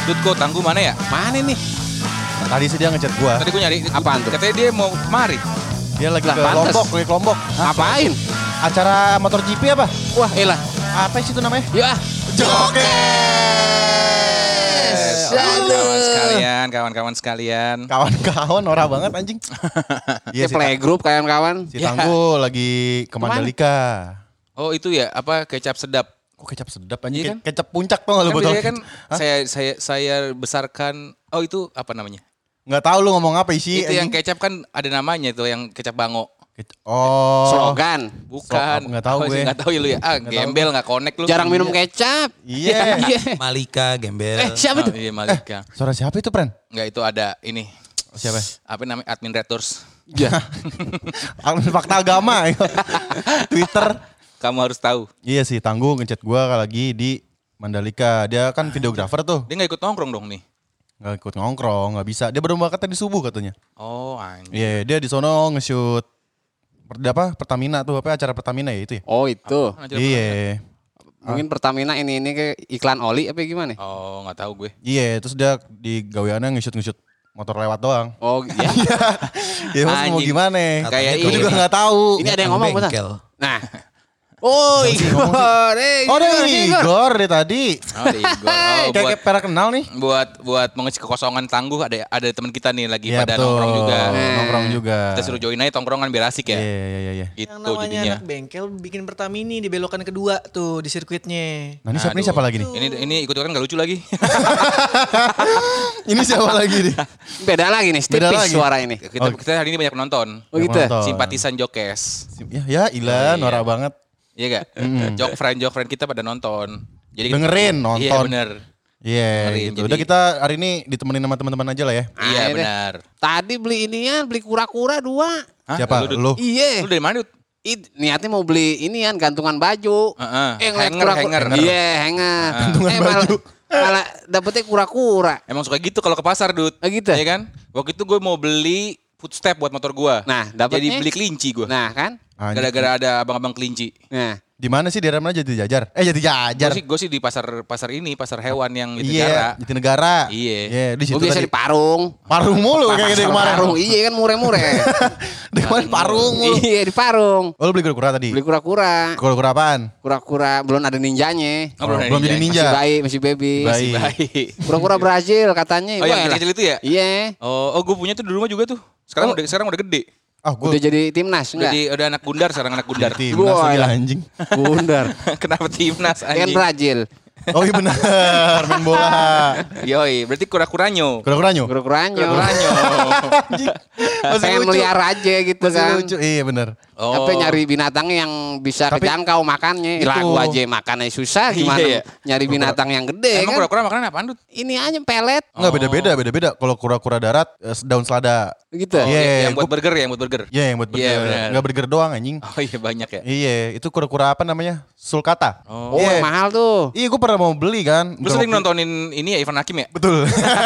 Tutko, Tangguh mana ya? Mana nih? Tadi sih dia ngechat gua. Tadi gue nyari. Apaan tuh? Katanya dia mau kemari. Dia lagi Lah, ke pantes. Lombok, lagi ke Lombok. Ngapain? Acara motor GP apa? Wah, elah. Apa sih itu namanya? Yuk ah. Jokes. Kawan-kawan sekalian, kawan-kawan sekalian. Kawan-kawan norak banget anjing. Iya, playgroup kawan-kawan. Si Tangguh lagi ke Kemana? Mandalika. Oh itu ya, apa kecap sedap. Kok kecap sedap anjing? Iya kan? Kecap puncak tuh kalau Kan botol. biasanya kan saya besarkan. Oh itu apa namanya? Nggak tahu lu ngomong apa isi. Itu yang kecap kan ada namanya itu, yang kecap bango. Oh. Slogan. Bukan. Nggak tahu gue. Nggak tahu ya lu ya. Ah, Nggak tahu gembel nggak connect lu. Jarang minum kecap. Iya. Malika, Gembel. Siapa Oh, itu? iya Malika. Suara siapa itu, Pren? Nggak, itu ada ini. Siapa? Apa namanya? Admin Red Doors. Ya. Fakta agama. Twitter. Kamu harus tahu. Iya sih, Tangguh ngechat gua lagi di Mandalika. Dia kan videografer tuh. Dia nggak ikut nongkrong dong nih. Nggak ikut ngongkrong, nggak bisa. Dia baru berangkat tadi subuh katanya. Oh anjing. Iya, dia di sono nge-shoot Pertamina tuh, apa acara Pertamina ya itu ya? Oh itu. Iya. Mungkin Pertamina ini ke iklan oli apa gimana? Oh nggak tahu gue. Iya, terus dia di gaweannya nge-shoot motor lewat doang. Oh ya. Ya mas mau Anjing. gimana? Kayak Gue ini. juga nggak tahu. Ini ada yang ngomong betul. Bengkel. Nah. Oh Igor. Oh, ada Igor dari tadi. Oh di Igor. Oh, Kayak pernah kenal nih. buat mengisi kekosongan Tangguh, ada teman kita nih lagi Iya, pada betul. nongkrong juga. Nongkrong juga. Kita suruh join aja tongkrongan biar asik ya. Iya. Itu Yang namanya jadinya. anak bengkel bikin Pertamini di belokan kedua tuh di sirkuitnya. Nah ini Aduh. siapa lagi nih? Ini ikut-ikutan gak lucu lagi. Ini siapa lagi nih? Beda lagi nih, Beda tipis lagi. suara ini. Kita hari ini banyak penonton. Oh gitu. Nonton. Simpatisan Jokes. Ya Ila, Iya. norak banget. Iya gak? Jok friend kita pada nonton. Jadi Dengerin, nonton. Iya bener. Iya Dengerin, gitu. jadi- Udah kita hari ini ditemenin sama teman-teman aja lah ya. Iya deh. benar. Tadi beli inian, beli kura-kura 2. Hah? Siapa? Dut? Lu? Iya. Lu dari mana, Dut? Niatnya mau beli inian gantungan baju. Heeh. Ngeliat Hanger. Iya, hanger. Gantungan baju. Malah dapetnya kura-kura. Emang suka gitu kalau ke pasar, Dut. Oh, gitu? Iya kan? Waktu itu gue mau beli footstep buat motor gue. Nah, dapetnya. Jadi beli kelinci gue. Nah, kan? Anjing. Gara-gara ada abang-abang kelinci. Nah, Di mana sih daerah mana Jati Jajar? Jati Jajar. Gue sih di pasar hewan yang itu Iya, Jatinegara. Iya. Iya, di situ gue biasa tadi. di Parung. Parung mulu kayak gitu kemarin. Parung, iya kan mureh-mureh. Di mana Parung mulu. Iya di Parung. Oh, lu beli kura-kura tadi? Beli kura-kura. Kura-kura apaan? Kura-kura belum ada ninjanya. Oh, belum ada belum jadi ninja. ninja. Masih bayi, masih baby. Bayi. Baik. Kura-kura Brazil katanya. Oh yang Wah, kecil-kecil itu ya? Iya. Oh gue punya tuh di rumah juga tuh. Sekarang udah gede. Ah, gue Udah jadi timnas enggak? Udah anak gundar sekarang, anak gundar. timnas lagi Wah, anjing. Bundar. Kenapa timnas Dia kan anjing? Brazil. Oh iya benar, main bola. Yoi, berarti kura-kuranyo. Kura-kuranya? Kura-kuranya. Kura-kuranyo. Pengen melihara aja gitu Masih kan. lucu. Iya benar. Oh. Tapi nyari binatang yang bisa Tapi- kejangkau makannya. Itu. Lah gua aja makannya susah gimana Iya, iya. nyari binatang yang gede Emang kan. kura-kura makanan apaan, Dut? Ini aja pelet Enggak beda-beda. Kalau kura-kura darat daun selada. gitu. Oh, Iya, yang buat burger ya, yang buat burger. Iya, yang buat Iya, burger. benar. Enggak burger doang anjing. Oh iya banyak ya. Iya, itu kura-kura apa namanya? Sulcata. Oh. Oh, Iya. mahal tuh. Iya, gue pernah mau beli kan. Lu sering nontonin ini ya, Ivan Hakim ya? Betul.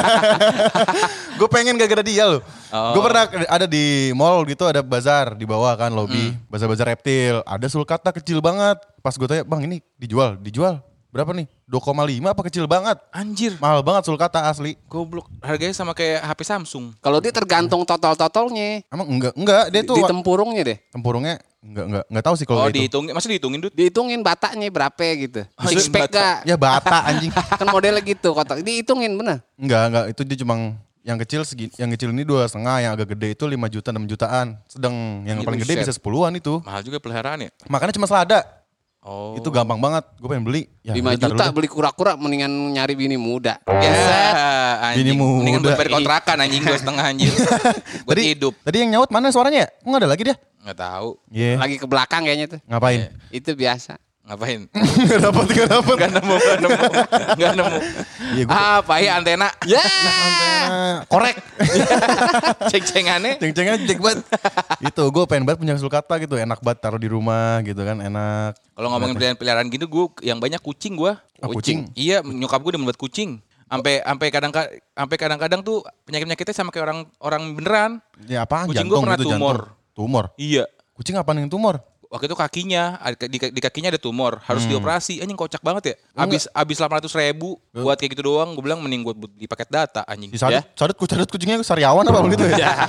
Gue pengen gara-gara dia loh. Oh. Gue pernah ada di mall gitu, ada bazar di bawah kan lobby, bazar-bazar reptil. Ada sulcata kecil banget. Pas gue tanya, "Bang, ini dijual berapa nih? 2,5 apa kecil banget?" Anjir, Mahal banget sulcata asli. goblok. Harganya sama kayak HP Samsung. Kalau dia tergantung totol-totolnya. Emang enggak dia tuh Di tempurungnya deh. tempurungnya enggak tahu sih kalau Oh, itu. dihitungin, masih dihitungin, Dut? Dihitungin batanya berapa gitu. Oh, Six pack bata. gak? Ya bata anjing. Kan modelnya gitu kotak. Dihitungin bener. Enggak, itu dia cuma yang kecil segini, yang kecil ini 2,5, yang agak gede itu 5 juta, 6 jutaan. Sedang yang Iya, paling gede buset. bisa 10-an itu. Mahal juga peliharaan ya? Makanya cuma selada. Oh. Itu gampang banget. Gue pengen beli. Ya, 5 bentar juta dulu deh. beli kura-kura mendingan nyari bini muda. Ya, Bini anjing. Mendingan muda. buat bayar kontrakan anjing 2,5 anjir. Buat hidup. Tadi yang nyaut mana suaranya ya? Kok nggak ada lagi dia? Nggak tahu. Iya. Lagi ke belakang kayaknya tuh. Ngapain? Itu biasa. Ngapain? Gak dapet. Gak nemu. Gak nemu. Iya, gue Apa ya antena? Ya. korek. Ceng-cengannya. Ceng-cengnya cek banget. Itu gue pengen banget punya sulcata gitu. Enak banget taruh di rumah gitu kan. Enak. Kalau ngomongin peliharaan gitu, gue yang banyak kucing gue. Ah, kucing? Iya, nyokap gue udah membuat kucing. Sampai kadang-kadang tuh penyakit-penyakitnya sama kayak orang beneran. Ya apaan? Kucing Jantung gua pernah gitu, tumor. jantung. Tumor? Iya. Kucing apaan yang tumor? waktu itu kakinya di kakinya ada tumor, harus dioperasi. Anjing kocak banget ya. Abis 800.000 buat kayak gitu doang. Gue bilang mending buat di paket data anjing. Si Sadut kucingnya Sariawan apa gitu ya?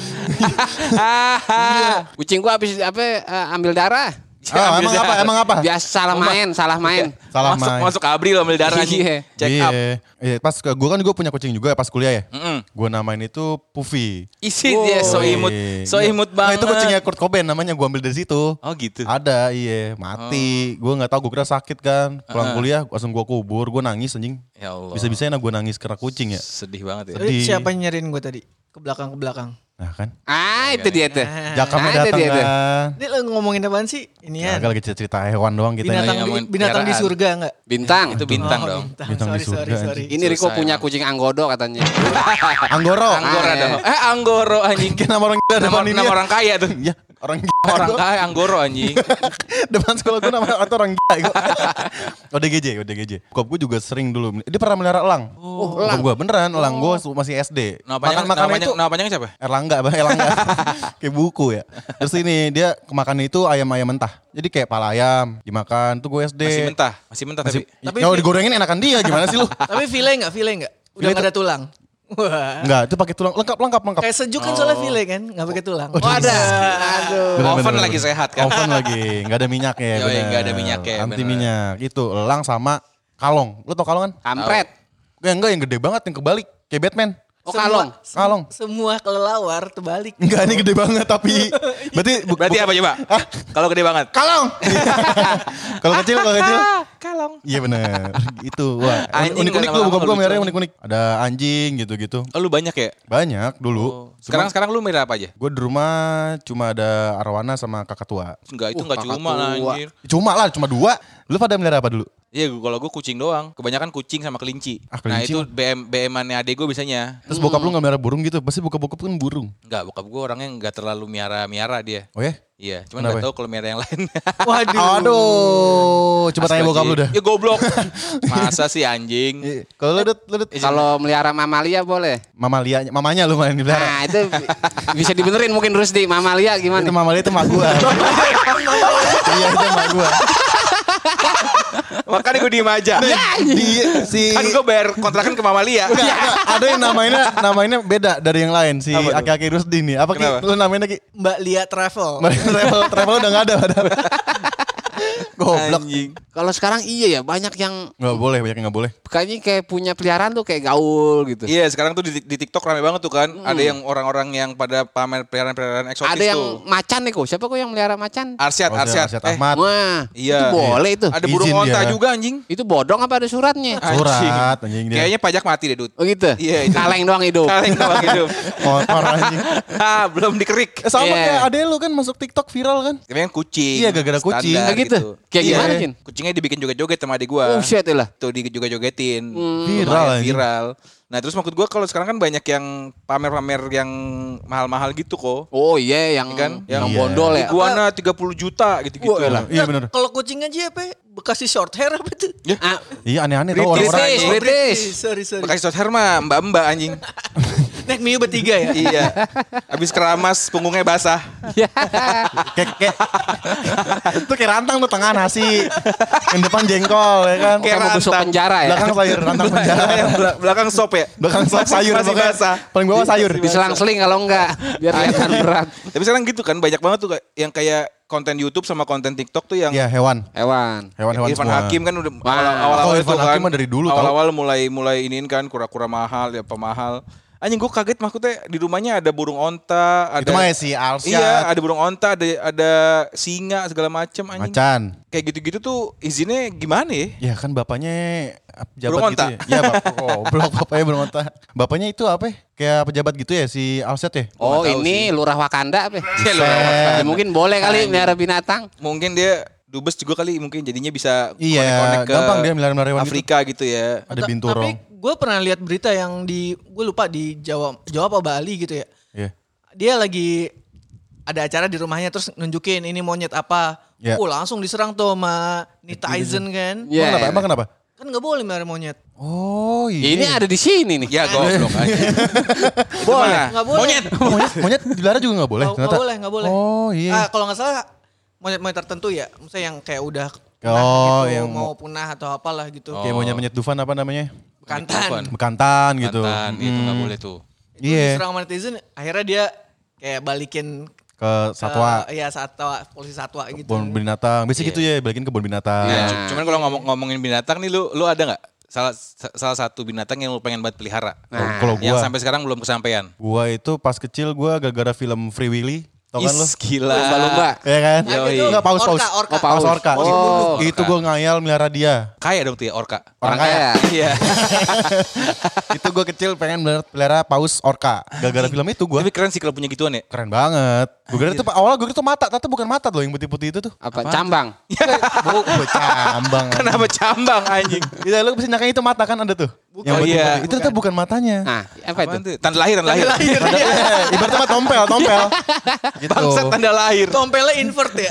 Kucing gua habis ambil darah. Emang apa? Biasa salah main. Masuk abri lo ambil darah anjing. Iya. Check up. Iya, pas gue kan punya kucing juga pas kuliah ya. Gue namain itu Puffy. Isi dia so imut Nah, banget. itu kucingnya Kurt Cobain namanya, gue ambil dari situ. Oh gitu. Ada, iya, mati. Gue nggak tahu, gue kira sakit kan. Pulang kuliah langsung gue kubur, gue nangis anjing. Ya Allah. Bisa-bisanya gue nangis karena kucing ya. Sedih banget ya. Sedih. Siapa yang nyariin gue tadi? Ke belakang. Nah kan, Itu dia tuh. Jakamnya Ada datang dia tuh. kan. Ini lo ngomongin apaan sih? Ini ya. Agak lagi cerita hewan doang kita. Binatang, ngomongin binatang di peliharaan. surga enggak? Bintang. Itu bintang dong. Bintang di surga, anjing. Ini Riko Susah punya emang. kucing anggodo katanya. Anggoro. Anggora dong. Anggoro anjing. Kayak nama orang gila depan ini. Nama orang kaya tuh. Iya, orang gila. Orang kaya Anggoro anjing. Depan sekolah gue nama atau orang gila. ODGJ. Bokap gue juga sering dulu. Dia pernah melihara elang. Bokap gue beneran, elang gue masih SD. Nama panjangnya siapa? Erlangga. Kayak buku ya. Terus ini dia kemakannya itu ayam-ayam mentah. Jadi kayak pala ayam dimakan tuh gue SD. Masih mentah tapi. Tapi Kalau digorengin enakan dia, gimana sih lu? Tapi file enggak? Udah enggak ada tulang. Wah. Enggak, itu pakai tulang lengkap. Kayak sejuk kan soalnya file kan, enggak pakai tulang. Oh ada. Aduh. Oven lagi sehat kan. Oven lagi, enggak ada minyaknya. Yoi, bener. nggak ada minyaknya, Anti bener. minyak. Itu elang sama kalong. Lu tau kalong kan? Kampret. Enggak yang gede banget, yang kebalik kayak Batman. Oh kalong. Kalong. Semua kelelawar terbalik. Enggak, ini gede banget tapi Berarti apa coba? Kalau gede banget. kalong. Kalau kecil. Kalong. Iya bener. Itu wah. Anjing Unik-unik nggak lu, lama-lama buka-buka lucu merahnya aja. unik-unik. Ada anjing gitu-gitu. Oh, lu banyak ya? Banyak dulu. Sekarang lu merah apa aja? Gue di rumah cuma ada arwana sama kakak tua. Enggak, itu enggak kakak cuma lah tua. anjir. Cuma 2. Lu pada melihara apa dulu? Iya, kalau gue kucing doang. Kebanyakan kucing sama kelinci. Ah, Nah, kelinci itu BM-annya adek gue biasanya. Terus bokap lu gak melihara burung gitu? Pasti bokap kan burung. Enggak, bokap gue orangnya enggak terlalu miara-miara dia. Oh ya? Iya, cuman Kenapa enggak tahu kalau miara yang lain. Waduh. Aduh, coba tanya bokap lu dah. Ya goblok. Masa sih anjing? Iya. Kalau lu Dut, Kalau melihara mamalia boleh. mamanya lu main melihara. Nah itu bisa dibenerin mungkin Rusdi. Mamalia gimana? Itu mamalia itu mak gua. Iya, itu mak gua. Makanya gue diem aja. Kan gue bayar kontrakan ke Mamalia. Ada yang namanya beda dari yang lain si Apa tuh? Aki-Aki Rusdi nih. Apa Ki? Kenapa? Lu namanya Ki? Mbak Lia Travel. Travel udah gak ada padahal. Goblok. Anjing. Kalau sekarang iya ya banyak yang Gak boleh, banyak yang gak boleh. kayaknya kayak punya peliharaan tuh kayak gaul gitu. Iya, sekarang tuh di TikTok rame banget tuh kan. Ada yang orang-orang yang pada pamer peliharaan-peliharaan eksotis Ada yang tuh. macan nih kok. Siapa kok yang melihara macan? Arsyad. Arsyad Ahmad. Wah, Iya. itu boleh itu. Ada burung Izin onta dia. juga anjing. Itu bodong apa ada suratnya? Surat anjing dia. Kayaknya pajak mati deh, Dut. Oh gitu? Iya, itu. Kaleng doang hidup. Kaleng doang hidup. Motor anjing. Belum dikerik. Sama Iya. kayak ade lu kan masuk TikTok viral kan? Tapi kan kucing. Iya, gara-gara kucing. Standar Kayak gitu? Kayak Iya. gimana, Cin? Kucingnya dibikin joget-joget sama adik gua. Oh shit lah. Tuh dijoget-jogetin. Viral Lumayan anjing. viral. Nah, terus maksud gua kalau sekarang kan banyak yang pamer-pamer yang mahal-mahal gitu kok. Oh iya yang Iya kan? yang Iya. bondol ya. Iguana 30 juta gitu-gitu. Wah, elah. Iya benar. Kalau kucing aja apa? Bekasi short hair apa tuh? Ah, Iya aneh-aneh tau orang-orang. British, British. Sorry. Bekasi short hair mah mbak-mbak anjing. Naik Mio bertiga ya? Iya. Habis keramas punggungnya basah. Kayak itu kayak rantang tuh tengah nasi. Yang depan jengkol ya kan. Kayak Kayak mau busuk rantang. penjara ya. Belakang sayur rantang penjara. Yang belakang sop ya. Belakang sop sayur Masih pokoknya. basah. Paling bawah sayur. Diselang-seling kalau enggak biar kelihatan berat. Tapi sekarang gitu kan banyak banget tuh yang kayak konten YouTube sama konten TikTok tuh yang Iya hewan. Hewan. Hewan-hewan Irfan semua. Hakim kan udah Wah. awal-awal Oh, itu Irfan kan. Hakim mah dari dulu tau. Awal-awal mulai iniin kan kura-kura mahal ya pemahal. Anjing gue kaget maksudnya di rumahnya ada burung onta, ada Itu mah ya si Alsyad. iya, ada burung onta, ada singa segala macam anjing. Macan. Kayak gitu-gitu tuh izinnya gimana ya? Ya kan bapaknya pejabat Burung gitu onta. ya. Iya blok bapaknya burung onta. Bapaknya itu apa ya? Kayak pejabat gitu ya si Alsyad ya? Oh nggak tahu ini lurah Wakanda apa? Ya, lurah Ya, mungkin boleh kali melihara binatang. Mungkin dia dubes juga kali mungkin jadinya bisa Iya, connect-connect ke gampang dia melihara hewan gitu. Afrika gitu ya. Ada Tapi binturong. gue pernah lihat berita yang gue lupa di Jawa apa Bali gitu ya. Iya. Dia lagi ada acara di rumahnya terus nunjukin ini monyet apa. Iya. Langsung diserang tuh sama netizen kan. Iya. Emang kenapa? Kan gak boleh melihara monyet. Oh iya. Ini ada di sini nih. Ya goblok aja. Boleh, nggak boleh. Monyet. monyet dilihara juga gak boleh? Nggak ternyata? boleh, nggak boleh. Oh iya. Kalau nggak salah monyet-monyet tertentu ya. Misalnya yang kayak udah Oh, gitu, yang mau punah atau apalah gitu. Kayak monyet-monyet Dufan apa namanya? Bekantan. Bekantan gitu. Bekantan, itu nggak boleh tuh. Itu Iya. diserang sama netizen, akhirnya dia kayak balikin Ke satwa, Iya, satwa, polisi satwa gitu. kebun binatang. Biasanya gitu ya, balikin kebun binatang. Nah, cuman kalau ngomongin binatang nih, lu ada nggak salah satu binatang yang lu pengen banget pelihara? Kalau Yang gua, sampai sekarang belum kesampaian. gua itu pas kecil gua gara-gara film Free Willy. Tau kan lu? Gila. Lumba-lumba. Iya kan? Yoi. Enggak, paus. Orka. Oh, paus orka. Oh, Itu gua ngayal melihara dia. Kaya dong tuh ya orka. Orang kaya. Iya. Itu gua kecil pengen melihara paus orka. Gara-gara film itu gua Tapi keren sih kalau punya gituan ya. keren banget. Gua kira itu awalnya gua kira itu mata, ternyata bukan mata loh yang putih-putih itu tuh. Apa? Cambang. Cambang. Kenapa cambang anjing? Iya, lu bisa nyangka itu mata kan ada tuh. Bukan. Yang Oh, iya. putih-putih. Itu ternyata bukan matanya. Nah, apa itu? Apaan tuh? Tanda lahir. Ibaratnya mah tompel. Gitu. Bangsat tanda lahir. Tompelnya invert ya.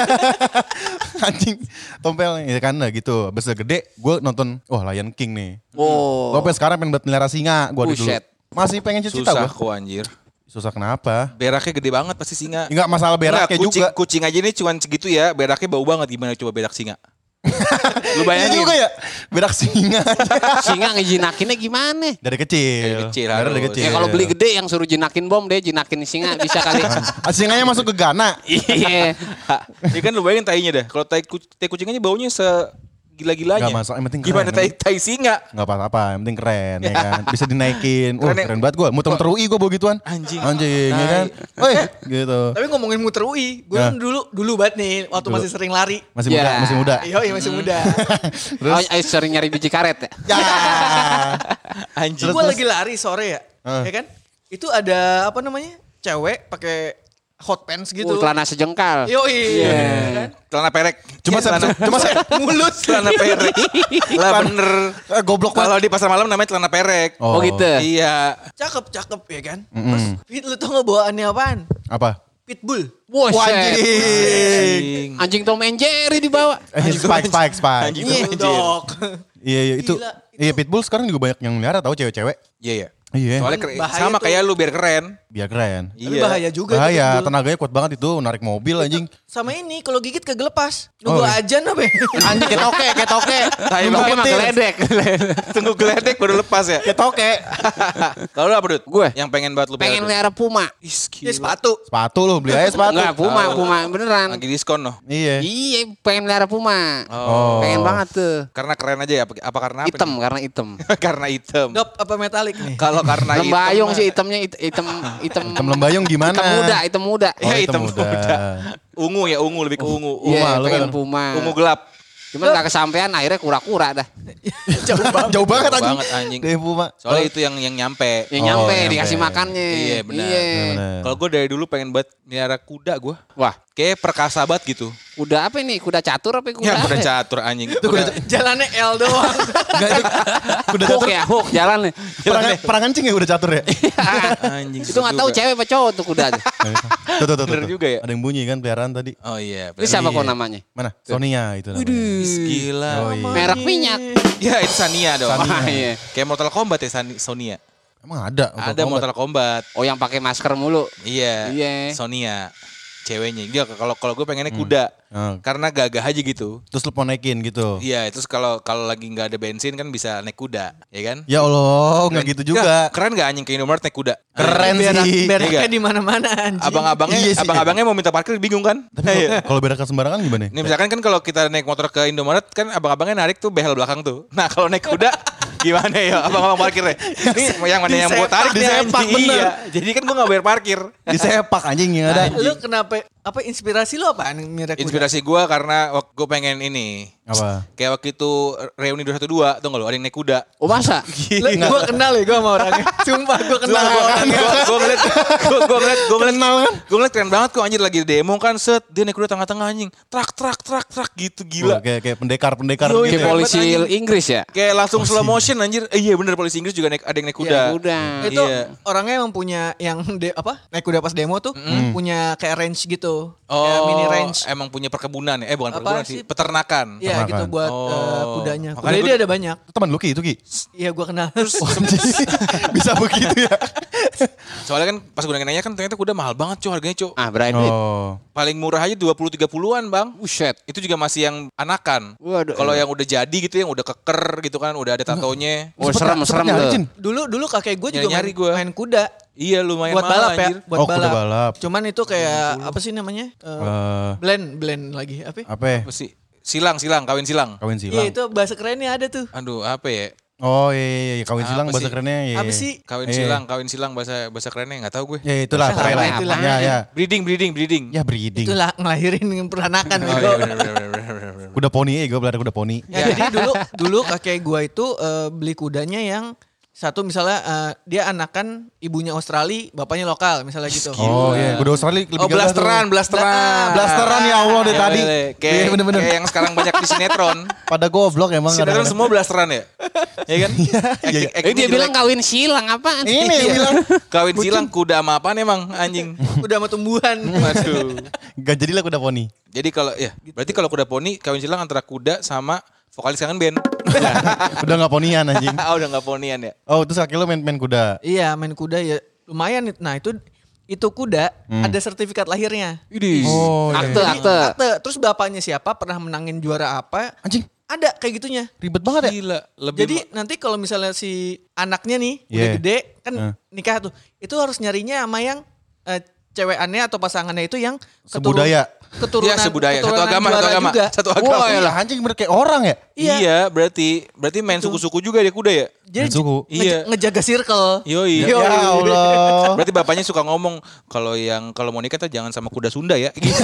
Anjing, tompel ya kan nah gitu. Abis udah gede, gue nonton, Lion King nih. Oh. Gue sekarang pengen buat melihara singa, gue dulu. Buset. Masih pengen cita-cita Susah gue. kok anjir. Susah kenapa? Beraknya gede banget pasti singa. Enggak masalah beraknya Enggak, juga. Kucing aja nih cuman segitu ya, beraknya bau banget. Gimana coba berak singa? Lu Iya bayangin. juga ya, berak singa Singa ngejinakinnya gimana? dari kecil. Dari kecil Dari harus. kecil. Ya kalau beli gede yang suruh jinakin bom deh, jinakin singa bisa kali. Singanya masuk ke Ghana. Iya. Ya kan lu bayangin tainya dah. Kalau tai kucing aja baunya segila-gilanya. Enggak masalah, yang penting Gimana keren, tai singa? Enggak apa-apa, yang penting keren ya kan. Bisa dinaikin. Keren ya. Keren banget gue. Muter-muter UI gue bawa gituan. Anjing. Ya kan. Woi, gitu. Tapi ngomongin muter UI, gue Ya. kan dulu banget nih waktu masih sering lari. Masih Ya. muda, masih muda. Iya, masih muda. Oh, sering nyari biji karet ya? Ya. Anjing. Gue lagi lari sore ya, ya kan? Itu ada apa namanya? Cewek pakai hot pants gitu. Celana sejengkal. Yoi. Ya kan? Celana perek. Cuma saya Mulut. Celana perek. Lah bener. goblok banget. Kalau di pasar malam namanya celana perek. Oh gitu. Iya. Cakep ya kan? Terus Fit, lu tau gak bawaannya apaan? Apa? Pitbull. Wah, Anjing. Anjing Tom and Jerry dibawa. Spike. Anjing. Bulldog. Iya itu. Gila, Iya pitbull sekarang juga banyak yang melihara tahu cewek-cewek. Iya ya. Iya. Soalnya Bahaya sama tuh. kayak lu biar keren. Biar keren. Tapi bahaya juga. tuh Bahaya, pitbull. tenaganya kuat banget itu, narik mobil anjing. Sama ini, kalau gigit kagak lepas. Nunggu Oh, iya. ajan apa ya? Anjing ketoke. Tai Tapi banget. emang geledek. Tunggu geledek baru lepas ya. Ketoke. Kalau lu apa Dut? Gue. Yang pengen banget lu Pengen Dut? liara puma. Ya sepatu. Sepatu lu, beli aja sepatu. Enggak, puma beneran. Lagi diskon loh. Iya. Iya, pengen liara puma. Oh. Pengen banget tuh. Karena keren aja ya? Apa karena apa? Hitam nih? karena hitam. Karena hitam. Gap apa metalik nih? Kalau karena hitam. Lembayung mah- sih hitamnya hitam Hitam lembayung gimana? hitam muda. Oh, Ya, hitam hitam muda. muda. Ungu ya, ungu lebih ke ungu. Iya, Puma, lu pengen kan? puma. Ungu gelap. Cuman gak kesampean akhirnya kura-kura dah. Jauh banget anjing. banget, anjing. Dari Puma. Soalnya itu yang nyampe. Yang nyampe nyampe. dikasih makannya. Iya, benar. Bener. Kalau gue dari dulu pengen buat melihara kuda gue. Wah, Kayak perkasa banget gitu. kuda apa ini? Kuda catur apa kuda? Ya apa? kuda catur anjing. Jalannya L doang. Enggak itu kuda Hook catur. ya, hook jalan nih. Perang kencing ya udah catur ya? Anjing. Itu nggak tahu cewek apa cowok tuh kuda. Tuh. Bener juga ya. Ada yang bunyi kan peliharaan tadi. Oh iya. Ini siapa Iya. kok namanya? Mana? Sonia itu namanya. Gila. Oh, iya. Merek minyak. Ya itu Sania dong. Wah, iya. Kayak Mortal Kombat ya Sonia. Emang ada? Ada Mortal Kombat. Oh yang pakai masker mulu. Iya. Iya. Sonia. Ceweknya. Dia kalau gue pengennya kuda. Karena gagah aja gitu. Terus lu mau naikin gitu. Iya, terus kalau lagi nggak ada bensin kan bisa naik kuda, ya kan? Ya Allah, enggak gitu juga. Keren nggak anjing ke Indomaret naik kuda? Keren sih. Beraknya Iya. di mana-mana anjing. Abang-abangnya, Iya sih. abang-abangnya mau minta parkir bingung kan? Tapi kalau berakan sembarangan gimana? Nih misalkan kan kalau kita naik motor ke Indomaret kan abang-abangnya narik tuh behel belakang tuh. Nah kalau naik kuda gimana ya abang-abang parkirnya? Ini yang mana yang mau tarik nih disepak, anjing? bener. Iya. Jadi kan gue nggak bayar parkir. Disepak anjing yang ada. Lu kenapa apa inspirasi lu apaan mirip kuda? Inspirasi gue karena gue pengen ini. Apa? Kayak waktu itu reuni 212 tuh nggak lo ada yang naik kuda. Oh masa? Gue kenal ya gue sama orangnya. Sumpah gue kenal sama orangnya. Gue ngeliat keren banget kok anjir lagi demo kan set dia naik kuda tengah-tengah anjing trak gitu gila. Oh, kayak pendekar-pendekar Yoi, gitu. Kayak ya. polisi Inggris ya? Kayak langsung slow motion anjir. Iya bener polisi Inggris juga ada yang naik kuda. Ya udah. Itu Iya. orangnya emang punya yang naik kuda pas demo tuh punya kayak range gitu. Oh, Kayak mini range. emang punya perkebunan ya? Bukan Apa perkebunan sih? sih, peternakan. Iya Peternakan. gitu buat Oh. kudanya. Makanya Kuda gua- dia ada banyak. Itu teman lu Ki itu Ki. Iya gue kenal. Bisa begitu ya. Soalnya kan pas gue nanya kan ternyata kuda mahal banget cuy harganya cuy. Ah, berapa duit? Oh. Paling murah aja 20-30-an bang. Buset. Itu juga masih yang anakan. Waduh. Kalau yang udah jadi gitu yang udah keker gitu kan udah ada tatonya. Oh, serem nyari, tuh. Cin. Dulu kakek gue juga Nyari-nyari gua. main kuda. Iya lumayan Buat mahal balap ya, anjir. buat Oh, kuda balap. Cuman itu kayak apa sih namanya? Blend lagi apa? Apa ya? Apa sih? Silang, kawin silang. Kawin Iya silang. itu bahasa kerennya ada tuh. Aduh apa ya? Oh iya, kawin silang Apa bahasa sih? kerennya. Iya. Apa sih? Kawin silang bahasa kerennya nggak tahu gue. Ya itulah, Bahasa pokoknya lah. itulah. Ya. Breeding. Ya breeding. Itulah ngelahirin peranakan. Oh, bego. iya, bener. Kuda poni, gue pelihara kuda poni. Ya, jadi dulu kakek gua itu beli kudanya yang satu misalnya dia anakan ibunya Australia, bapaknya lokal misalnya gitu. Oh iya, kuda Australia lebih Oh gagah tuh. blasteran. Blasteran ya Allah dari Ya, tadi. boleh. Kayak, Iya, bener-bener. kayak yang sekarang banyak di sinetron. Pada goblok emang Sinetron kadang-kadang. semua blasteran ya? Ya kan? Dia bilang kawin silang apaan? Ini yang bilang. Kawin silang kuda sama apaan emang anjing? Udah sama tumbuhan. Waduh. Gak jadilah kuda poni. Jadi kalau ya berarti kalau kuda poni kawin silang antara kuda sama vokalis kangen band. Udah gak ponian anjing. Ah udah nggak ponian ya. Oh terus kaki lo main kuda. Iya main kuda ya lumayan. Nah itu kuda ada sertifikat lahirnya. Oh iya. Akte. Terus bapaknya siapa pernah menangin juara apa? Anjing Ada kayak gitunya. ribet banget ya. Gila. Lebih Jadi nanti kalau misalnya si anaknya nih udah Yeah. gede kan nikah tuh. Itu harus nyarinya sama yang cewekannya atau pasangannya itu yang Sebudaya. keturunan, ya sebudaya, satu keturunan agama, juara juga. satu agama. Wah lah anjing bener kayak orang ya. Iya, berarti main suku-suku juga dia kuda ya? Jadi Main suku. Iya. ngejaga circle. Yoi. Ya Allah. Berarti bapaknya suka ngomong kalau mau nikah tuh jangan sama kuda Sunda ya. Gitu.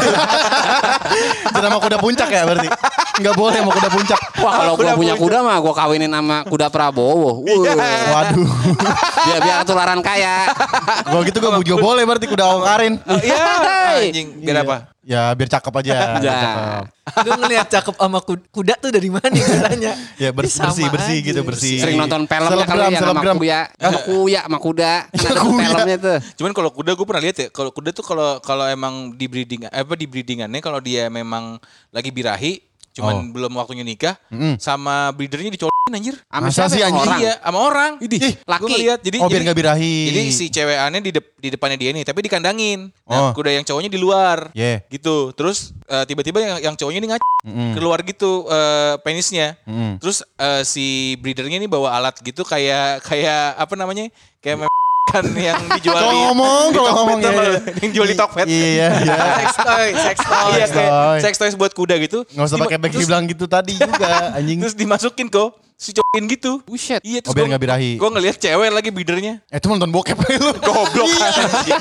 Jangan sama kuda puncak ya berarti. Gak boleh sama kuda puncak. Wah, kalau gua punya kuda mah gua kawinin sama kuda Prabowo. Waduh. Biar ketularan kaya. Kalau gitu gue juga boleh berarti kuda Karin. Iya, anjing. Biar apa? Ya biar cakep aja. Ya. Biar cakep. Lu ngelihat cakep sama kuda tuh dari mana nih tanya? Ya bersih aja. gitu bersih. Sering nonton filmnya kali ya sama kuya. Sama kuya sama kuda. Kan ada tuh filmnya tuh. Cuman kalau kuda gue pernah lihat ya, kalau kuda tuh kalau emang di breedingannya kalau dia memang lagi birahi, cuman belum waktunya nikah, sama breedernya dicolin anjir. Masa sih anjing? Orang. Iya, sama orang. laki. Gue ngeliat, jadi Oh biar gak birahi. Jadi si cewekannya di depannya dia nih, tapi dikandangin. Nah, Oh. kuda yang cowoknya di luar. Yeah. Gitu. Terus tiba-tiba yang cowoknya ini keluar gitu penisnya. Terus si breedernya ini bawa alat gitu kayak apa namanya? Kayak kan yang dijual Kalau ngomong Tokped, ya. yang jual di Tokped. Iya. Sex toy. Iya kayak toy. sex toys buat kuda gitu. Gak usah pakai back bilang gitu tadi juga anjing. Terus dimasukin kok si cowokin gitu. Buset. Iya terus Oh, biar nggak birahi. Gue ngelihat cewek lagi breedernya. Itu nonton bokep aja lu. Goblok anjing.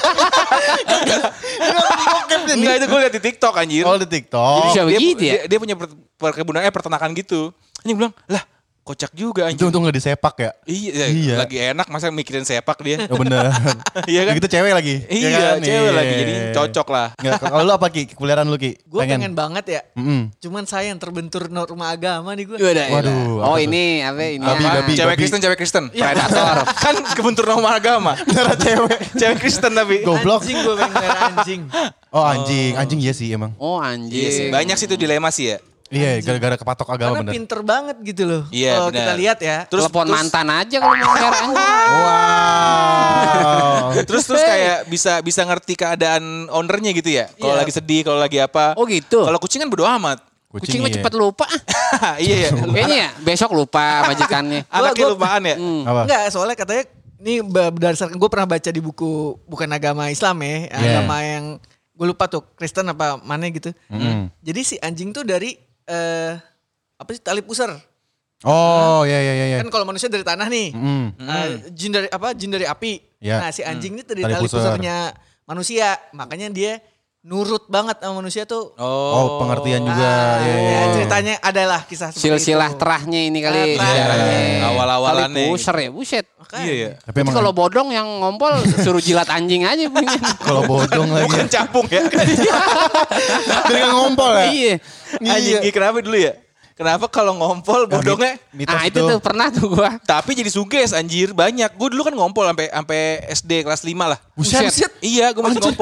Enggak itu gue lihat di TikTok anjir. Oh di TikTok. Bisa begitu ya? Dia punya perkebunan peternakan gitu. Anjing bilang, "Lah, kocak juga Itu anjing." untung gak disepak ya. Iya, lagi enak masa mikirin sepak dia. Oh bener. Iya kan? Gitu cewek lagi. Iya, Ya kan? cewek Iya. lagi jadi cocok lah. Nggak, kalau lu apa Ki? Kuliaran lu Ki? Gue pengen banget ya. Mm-mm. Cuman sayang terbentur norma agama nih gue. Waduh, Oh apa tuh? ini apa ini? Babi, apa? babi. Cewek Kristen. Predator. Kan kebentur nama agama. Darah cewek. Cewek Kristen tapi. Goblok. Anjing gue pengen ngeliat anjing. Oh anjing. Anjing iya sih emang. Oh Iya anjir. sih, banyak sih itu dilema sih ya. Iya gara-gara kepatok agama Karena bener. pinter banget gitu loh. Iya, Kalau benar. kita lihat ya. Terus Telepon mantan aja kalau mau ngeliat anjing. Wow. Terus kayak bisa ngerti keadaan ownernya gitu ya. Kalau Iya. lagi sedih, kalau lagi apa. Oh gitu. Kalau kucing kan bodo amat. Kucing mah iya. cepet lupa. Iya ya. Kayaknya ya besok lupa majikannya. Anaknya lupaan ya. Apa? Enggak, soalnya katanya ini berdasarkan gue pernah baca di buku bukan agama Islam ya, agama yang gue lupa tuh Kristen apa mana gitu. Jadi si anjing tuh dari apa sih tali pusar. Oh iya. Kan kalau manusia dari tanah nih. Jin dari apa? Jin dari api. Ya. Nah, si anjing ini dari Tali tali pusar. pusarnya manusia. Makanya dia nurut banget sama manusia tuh. Oh pengertian juga. Ah, Iya, iya. ya, ceritanya adalah kisah seperti Silsilah itu. terahnya ini kali. Terah. Sejarahnya. Awal-awalannya. Tali pusar ya, buset. Makanya. Iya ya. Tapi Tapi emang kalau bodong yang ngompol suruh jilat anjing aja punya. kalau bodong lagi. Bukan capung ya. Dengan ngompol ya. Iya. Anjing kenapa dulu ya? Kenapa kalau ngompol bodongnya? Mitos Ah itu tuh pernah tuh gua. Tapi jadi suges anjir banyak. Gue dulu kan ngompol sampai SD kelas 5 lah. Buset. Iya, gue masih ngompol.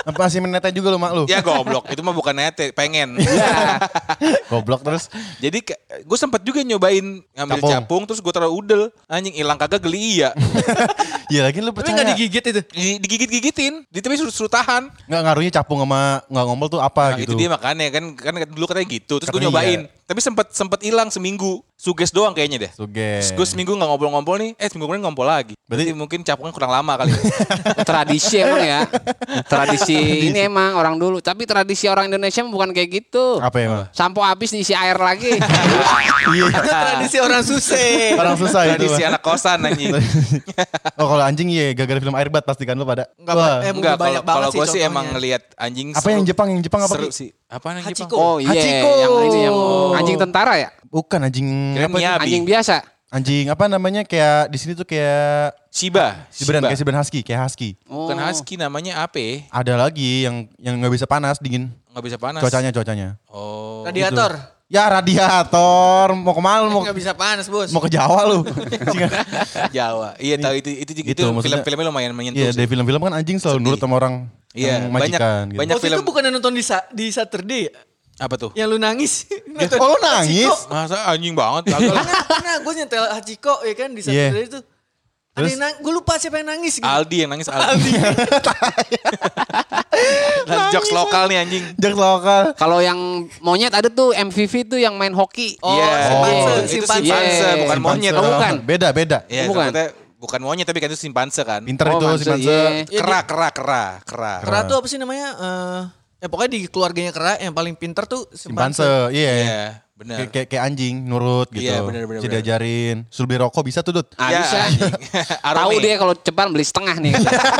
Apa masih menete juga lu mak lu? Ya goblok, itu mah bukan nete, pengen. Goblok terus. Jadi gue sempet juga nyobain ngambil capung terus gue taruh udel. Anjing hilang kagak geli iya. Iya lagi lu Tapi percaya. gak digigit itu? Digigit-gigitin, tapi suruh tahan. Nggak ngaruhnya capung sama nggak ngompol tuh apa Nah, gitu. itu dia makanya kan dulu katanya gitu. Terus gue Katanya nyobain. Tapi sempet hilang seminggu. Suges doang kayaknya deh. Suges. Terus gue seminggu gak ngompol-ngompol nih. Seminggu kemudian ngompol lagi. Berarti mungkin capungnya kurang lama kali. Tradisi emang ya. Tradisi ini emang orang dulu. Tapi tradisi orang Indonesia bukan kayak gitu. Apa ya emang? Sampo habis diisi air lagi. Iya. Itu tradisi orang susah. Orang susah itu. Tradisi Mah. anak kosan anjing. Oh kalau anjing iya gara-gara film Airbat pasti kan lu pada. Wah. Enggak, banyak kalau banget gue sih contohnya. emang ngelihat anjing Apa yang Jepang apa seru Ki? sih. Apa yang Hachiko. Jepang? Oh iya. Hachiko. Yang ini yang anjing tentara ya? Bukan anjing Kirain apa sih? Miyabi. Anjing biasa. Anjing apa namanya kayak di sini tuh kayak Shiba. Siberan kayak Siberan Husky, kayak Husky. Bukan husky namanya apa ya? Ada lagi yang nggak bisa panas, dingin. Nggak bisa panas. Cuacanya. Oh. Radiator. Ya radiator, mau kemana lu? Gak bisa panas bos. Mau ke Jawa lu? Jawa. Iya tahu itu Gitu, itu maksudnya- film-filmnya lumayan menyentuh. Iya sih. dari film-film kan anjing selalu Sedih. nurut sama orang Iya, yang majikan. Gitu. banyak Waktu film. itu bukan nonton di Saturday ya? Apa tuh? Yang lu nangis. Oh lu nangis? Masa anjing banget kagak lah. Karena gue nyetel Hachiko ya kan di Iya. Saturday itu. Ada Terus? yang gue lupa siapa yang nangis gitu. Aldi yang nangis Aldi. Jokes lokal nih anjing. Jokes lokal. Kalau yang monyet ada tuh MVV tuh yang main hoki. Oh, Iya. simpanse, Itu simpanse. simpanse, Iya. bukan monyet. Oh, bukan. Beda. Iya, Bukan. takutnya bukan monyet tapi kan itu simpanse kan. Pinter Oh, itu Manse, si Manse. iya. Kera. Kera tuh apa sih namanya? Ya pokoknya di keluarganya Kera yang paling pinter tuh Simpanse, simpanse. iya. Iya, benar. Kayak anjing, nurut gitu. Iya, bener. Bisa diajarin. Suruh beli rokok bisa tuh, Dut. Ah, Ya, bisa. anjing. Tahu Arumi. dia kalau cepat beli setengah nih.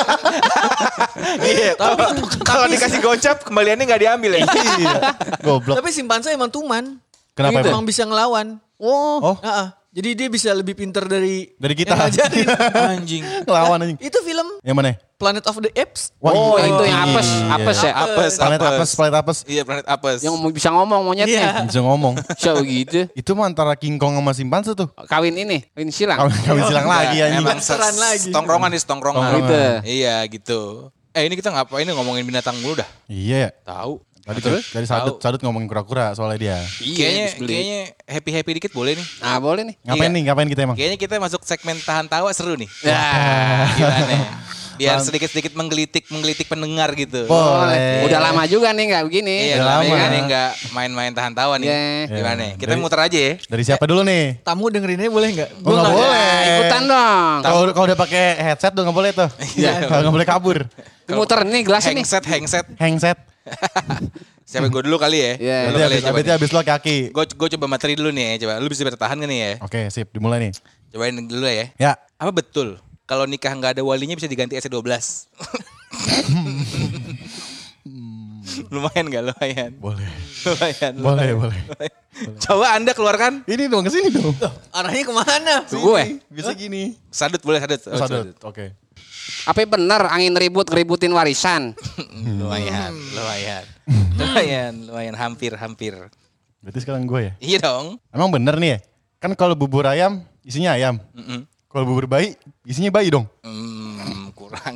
Iya, kalau dikasih gocap kembaliannya nggak diambil ya. Iya. Goblok. Tapi simpanse emang tuman. Kenapa Emang emang? bisa ngelawan. Oh, Jadi dia bisa lebih pinter dari kita. yang ngajarin. Anjing. Ngelawan anjing. Itu film Yang mana? Planet of the Apes. Wah, Oh, iya, itu yang iya, apes, iya. apes ya. Apes, Planet apes. Iya, planet apes. Yang bisa ngomong monyetnya. Iya. Bisa ngomong. Bisa begitu. Itu mah antara King Kong sama simpanse tuh. Kawin silang. Kawin silang lagi Enggak, anjing. emang Seran lagi. Tongkrongan nih, tongkrongan. Tongkrongan. Gitu. Iya, gitu. Ini kita ngapain nih ngomongin binatang dulu dah? Iya ya. Tahu. Tadi sadut ngomongin kura-kura soalnya dia. Kayaknya happy dikit boleh nih. Ah, boleh nih. Ngapain kita emang? Kayaknya kita masuk segmen tahan tawa seru nih. Ya. Gimana? Biar sedikit-sedikit menggelitik pendengar gitu. Boleh. Udah lama juga nih nggak begini. Iya, Udah lama lama. nih nggak main-main tahan tawa nih. Iya. Gimana? Iya. Kita muter aja ya. Dari siapa dulu nih? Tamu dengerinnya boleh nggak? Oh, nggak boleh. Ikutan dong. Kalau udah pakai headset tuh nggak boleh tuh. Iya. Kalau nggak boleh kabur. Muter nih gelas ini. Hangset. Handset. Siapa gue dulu kali ya? Iya. Lu kali ya, coba. Berarti habis lo kaki. Gue coba materi dulu nih ya, coba. Lu bisa bertahan gak nih ya? Oke, sip. Dimulai nih. Cobain dulu ya. Ya. Apa betul kalau nikah nggak ada walinya bisa diganti SC12? Lumayan nggak? Lumayan. Boleh. Lumayan. Boleh. Coba Anda keluarkan. Ini dong, kesini dong. Arahnya kemana? Gue. Bisa gini. Sadut boleh sadut. Oh, Sadut. Oke. Apa bener angin ngeributin warisan? Lumayan. Hampir. Berarti sekarang gue ya. Iya dong. Emang bener nih ya? Kan kalau bubur ayam isinya ayam. Kalau bubur bayi isinya bayi dong. Kurang.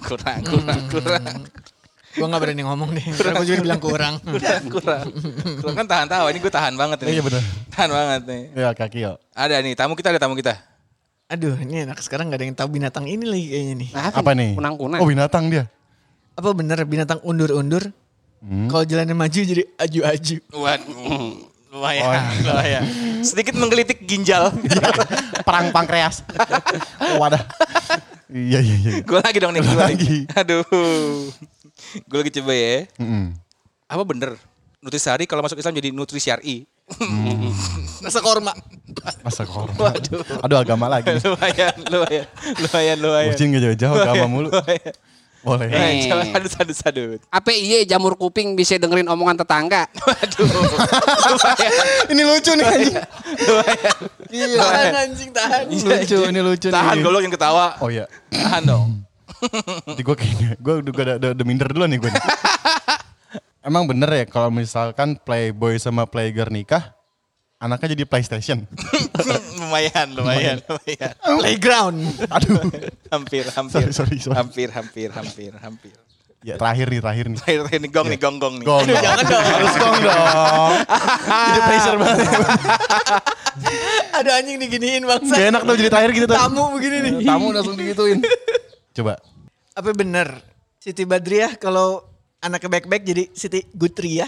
Gue gak berani ngomong deh. Karena gue juga bilang kurang. Kurang kan tahan tawa. Ini gue tahan banget nih. Iya bener. Tahan banget nih. Ya kaki yo. Ada nih tamu kita. Aduh ini anak sekarang gak ada yang tahu binatang ini lagi kayaknya nih. Apa nih? Kunang-kunang. Oh binatang dia. Apa bener binatang undur-undur? Kalau jalannya maju jadi aju-aju. Waduh. Lumayan. Sedikit menggelitik ginjal. Perang pankreas. Wadah. Iya. Gue lagi dong nih. Lu gua lagi. Aduh. Gue lagi coba ya. Mm-mm. Apa bener? Nutrisari kalau masuk Islam jadi Nutrisyari. Rasa korma. Masa korma. Waduh. Aduh agama lagi. Lumayan. Kucing gak jauh-jauh agama mulu. Boleh. Eh. Coba sadut. Apa iya jamur kuping bisa dengerin omongan tetangga? Waduh. Ini lucu nih anjing. Tahan anjing, tahan. Ini lucu nih. Tahan goblok yang ketawa. Oh iya. Tahan dong. Nanti gue kayaknya, gue udah minder dulu nih gue. Emang bener ya kalau misalkan playboy sama playgirl nikah, anaknya jadi PlayStation? lumayan. Playground. Aduh. Hampir. Sorry. Hampir. Ya terakhir nih. Terakhir nih gong nih. Gong. Aduh, jangan dong. Harus gong dong. Jadi pressure banget. Ada anjing diginiin bangsa. Gak enak tuh jadi terakhir gitu tuh. Tamu begini nih. Tamu langsung digituin. Coba. Apa bener Siti Badriah kalau anaknya baik-baik jadi Siti Gutri ya?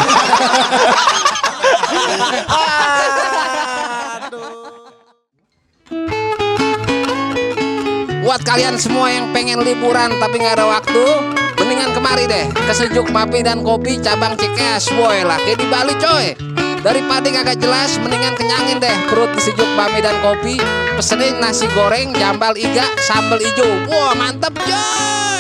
Buat kalian semua yang pengen liburan tapi nggak ada waktu, mendingan kemari deh ke Sejuk Mapi dan Kopi cabang Cikeas, boy lah kayak di Bali coy. Daripada kagak jelas, mendingan kenyangin deh perut di Sejuk Mapi dan Kopi. Pesenin nasi goreng, jambal iga, sambal ijo. Wah mantep coy.